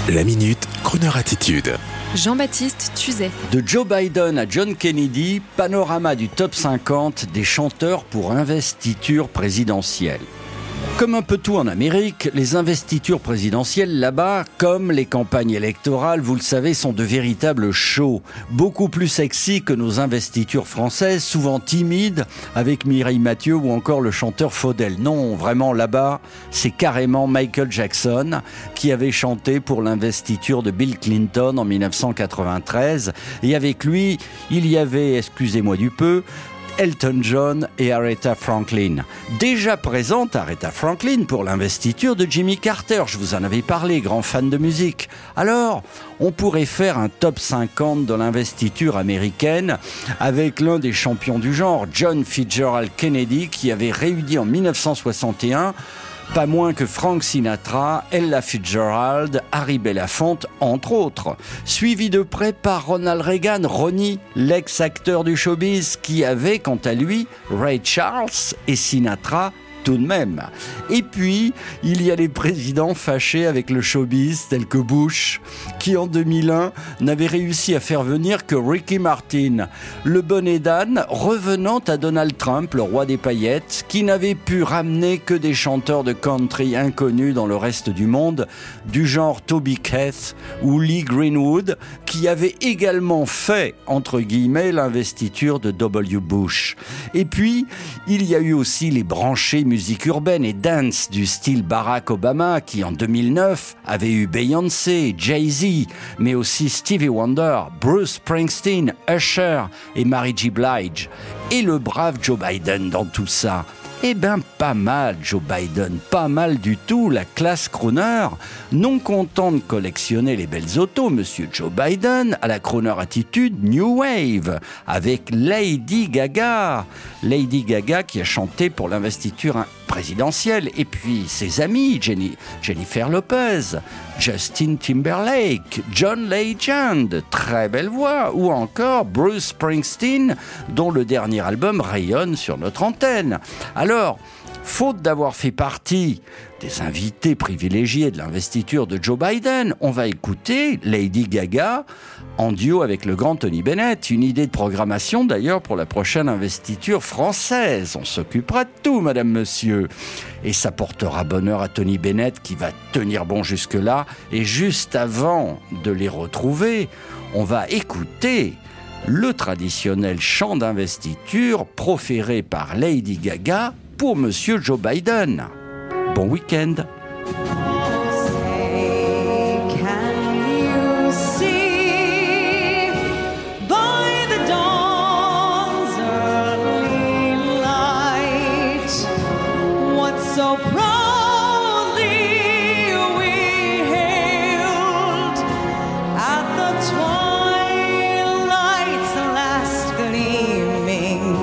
La Minute, Kroneur Attitude. Jean-Baptiste Tuzet. De Joe Biden à John Kennedy, panorama du top 50 des chanteurs pour investiture présidentielle. Comme un peu tout en Amérique, les investitures présidentielles là-bas, comme les campagnes électorales, vous le savez, sont de véritables shows. Beaucoup plus sexy que nos investitures françaises, souvent timides, avec Mireille Mathieu ou encore le chanteur Faudel. Non, vraiment là-bas, c'est carrément Michael Jackson qui avait chanté pour l'investiture de Bill Clinton en 1993. Et avec lui, il y avait, excusez-moi du peu, Elton John et Aretha Franklin. Déjà présente Aretha Franklin pour l'investiture de Jimmy Carter. Je vous en avais parlé, grand fan de musique. Alors, on pourrait faire un top 50 de l'investiture américaine avec l'un des champions du genre, John Fitzgerald Kennedy, qui avait réuni en 1961 pas moins que Frank Sinatra, Ella Fitzgerald, Harry Belafonte, entre autres. Suivi de près par Ronald Reagan, Ronnie, l'ex-acteur du showbiz, qui avait, quant à lui, Ray Charles et Sinatra tout de même. Et puis, il y a les présidents fâchés avec le showbiz, tels que Bush, qui en 2001 n'avait réussi à faire venir que Ricky Martin, le bonnet d'âne revenant à Donald Trump, le roi des paillettes, qui n'avait pu ramener que des chanteurs de country inconnus dans le reste du monde, du genre Toby Keith ou Lee Greenwood, qui avaient également fait, entre guillemets, l'investiture de W. Bush. Et puis, il y a eu aussi les branchés musique urbaine et dance du style Barack Obama qui en 2009 avait eu Beyoncé, Jay-Z, mais aussi Stevie Wonder, Bruce Springsteen, Usher et Mary J. Blige. Et le brave Joe Biden dans tout ça. Eh ben pas mal Joe Biden, pas mal du tout, la classe crooner. Non content de collectionner les belles autos, monsieur Joe Biden a la crooner attitude New Wave avec Lady Gaga. Lady Gaga qui a chanté pour l'investiture présidentielle. Et puis ses amis, Jennifer Lopez, Justin Timberlake, John Legend, très belle voix, ou encore Bruce Springsteen, dont le dernier album rayonne sur notre antenne. Alors, faute d'avoir fait partie des invités privilégiés de l'investiture de Joe Biden, on va écouter Lady Gaga en duo avec le grand Tony Bennett. Une idée de programmation d'ailleurs pour la prochaine investiture française. On s'occupera de tout, madame, monsieur. Et ça portera bonheur à Tony Bennett qui va tenir bon jusque-là. Et juste avant de les retrouver, on va écouter le traditionnel chant d'investiture proféré par Lady Gaga pour monsieur Joe Biden. Bon week-end. So proudly we hailed at the twilight's last gleaming.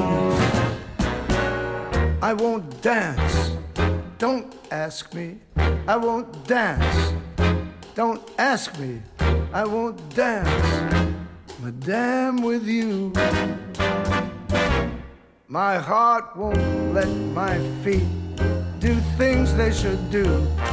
I won't dance, don't ask me. I won't dance, don't ask me. I won't dance, madame, with you. My heart won't let my feet do things they should do.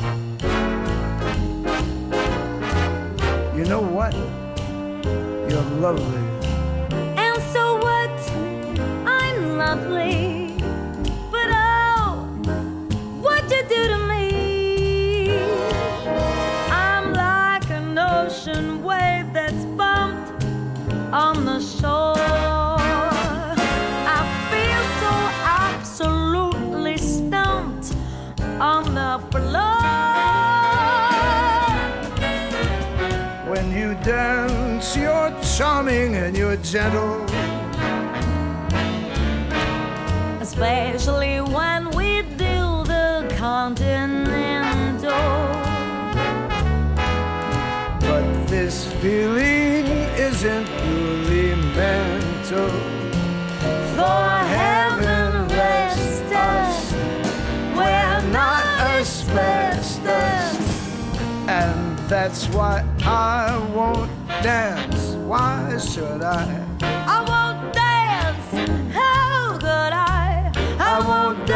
You know what? You're lovely. And so what? I'm lovely. But oh, what'd you do to me? I'm like an ocean wave that's bumped on the shore. I feel so absolutely stumped on the floor. When you dance, you're charming and you're gentle. Especially when we do the continental. But this feeling isn't purely mental. For heaven rest us, we're not asbestos. And that's why I won't dance. Why should I? I won't dance, how could I? I won't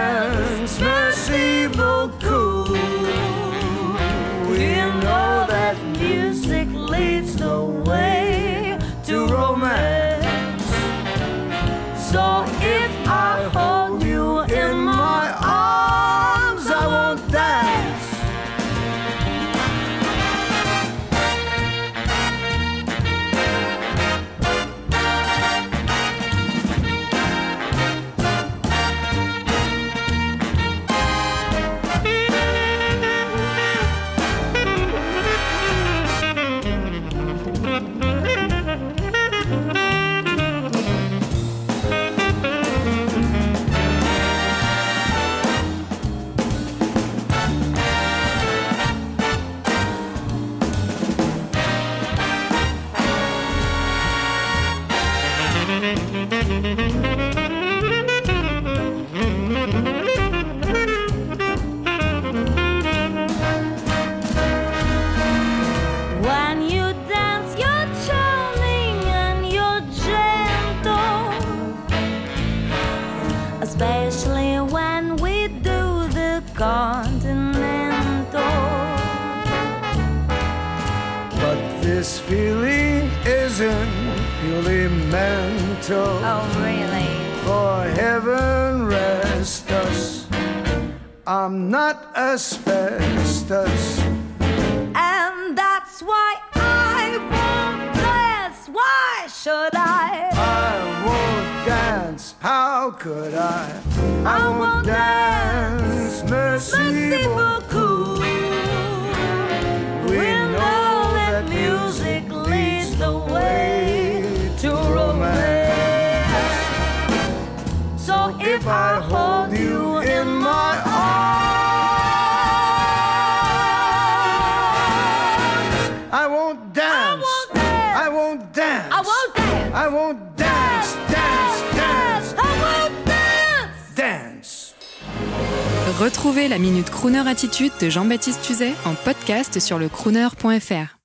dance, merci beaucoup. We know that only when we do the continental. But this feeling isn't purely mental. Oh, really? For heaven rest us, I'm not asbestos. And that's why I won't dance. Why should I? I won't dance, how could I? I won't dance, merci beaucoup. We know that music leads the way to romance. So If I hold you in my arms, I won't dance, I won't dance, I won't dance. I won't dance, dance, dance, I won't dance. dance. Retrouvez la Minute Crooner Attitude de Jean-Baptiste Tuzet en podcast sur le crooner.fr.